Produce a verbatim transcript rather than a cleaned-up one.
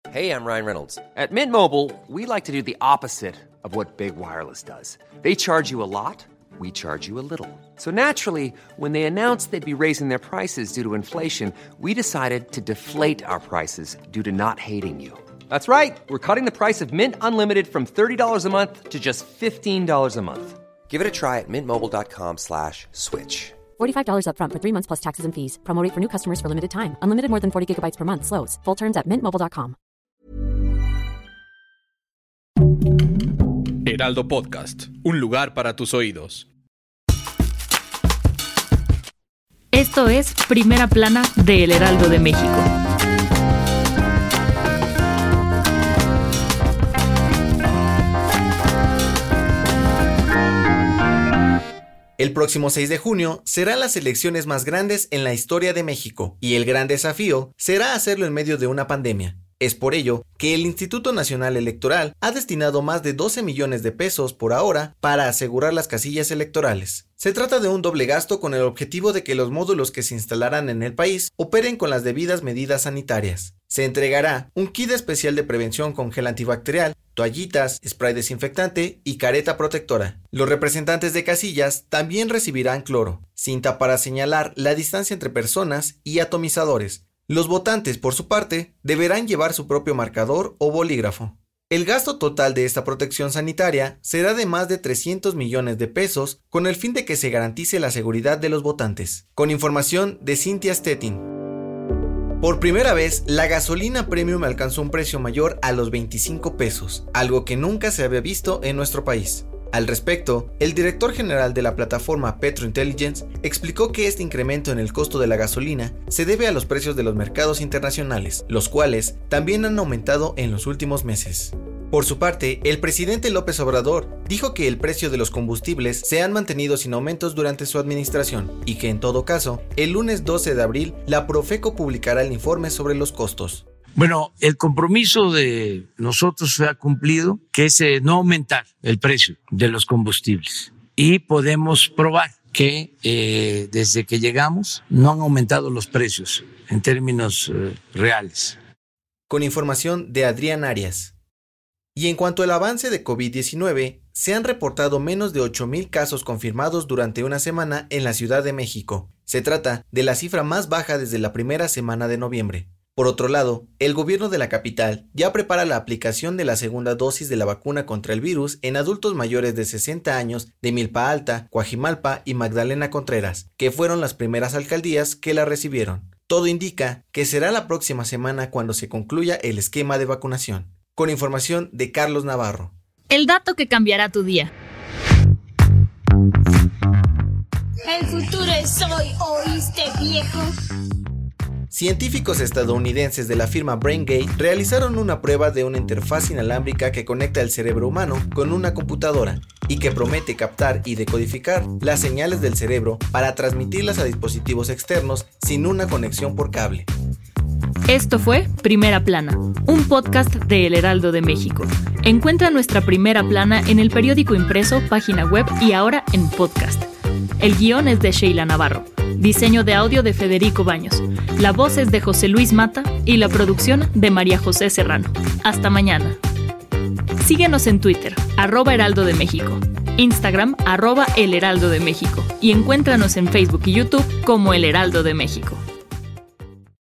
Hey, I'm Ryan Reynolds. At Mint Mobile, we like to do the opposite of what Big Wireless does. They charge you a lot, we charge you a little. So naturally, when they announced they'd be raising their prices due to inflation, we decided to deflate our prices due to not hating you. That's right. We're cutting the price of Mint Unlimited from thirty dollars a month to just fifteen dollars a month. Give it a try at mintmobile.com slash switch. forty-five dollars up front for three months plus taxes and fees. Promo rate for new customers for limited time. Unlimited more than forty gigabytes per month. Slows full terms at mint mobile dot com. Heraldo Podcast, un lugar para tus oídos. Esto es Primera Plana de El Heraldo de México. El próximo seis de junio serán las elecciones más grandes en la historia de México, y el gran desafío será hacerlo en medio de una pandemia. Es por ello que el Instituto Nacional Electoral ha destinado más de doce millones de pesos por ahora para asegurar las casillas electorales. Se trata de un doble gasto con el objetivo de que los módulos que se instalarán en el país operen con las debidas medidas sanitarias. Se entregará un kit especial de prevención con gel antibacterial, toallitas, spray desinfectante y careta protectora. Los representantes de casillas también recibirán cloro, cinta para señalar la distancia entre personas y atomizadores. Los votantes, por su parte, deberán llevar su propio marcador o bolígrafo. El gasto total de esta protección sanitaria será de más de trescientos millones de pesos con el fin de que se garantice la seguridad de los votantes. Con información de Cynthia Stettin. Por primera vez, la gasolina premium alcanzó un precio mayor a los veinticinco pesos, algo que nunca se había visto en nuestro país. Al respecto, el director general de la plataforma Petrointelligence explicó que este incremento en el costo de la gasolina se debe a los precios de los mercados internacionales, los cuales también han aumentado en los últimos meses. Por su parte, el presidente López Obrador dijo que el precio de los combustibles se han mantenido sin aumentos durante su administración y que en todo caso, el lunes doce de abril, la Profeco publicará el informe sobre los costos. Bueno, el compromiso de nosotros se ha cumplido, que es eh, no aumentar el precio de los combustibles. Y podemos probar que eh, desde que llegamos no han aumentado los precios en términos eh, reales. Con información de Adrián Arias. Y en cuanto al avance de COVID diecinueve, se han reportado menos de ocho mil casos confirmados durante una semana en la Ciudad de México. Se trata de la cifra más baja desde la primera semana de noviembre. Por otro lado, el gobierno de la capital ya prepara la aplicación de la segunda dosis de la vacuna contra el virus en adultos mayores de sesenta años de Milpa Alta, Coajimalpa y Magdalena Contreras, que fueron las primeras alcaldías que la recibieron. Todo indica que será la próxima semana cuando se concluya el esquema de vacunación. Con información de Carlos Navarro. El dato que cambiará tu día. El futuro es hoy, ¿oíste, viejo? Científicos estadounidenses de la firma BrainGate realizaron una prueba de una interfaz inalámbrica que conecta el cerebro humano con una computadora y que promete captar y decodificar las señales del cerebro para transmitirlas a dispositivos externos sin una conexión por cable. Esto fue Primera Plana, un podcast de El Heraldo de México. Encuentra nuestra Primera Plana en el periódico impreso, página web y ahora en podcast. El guión es de Sheila Navarro. Diseño de audio de Federico Baños. La voz es de José Luis Mata y la producción de María José Serrano. Hasta mañana. Síguenos en Twitter, arroba Heraldo de México, Instagram, arroba El Heraldo de México y encuéntranos en Facebook y YouTube como El Heraldo de México.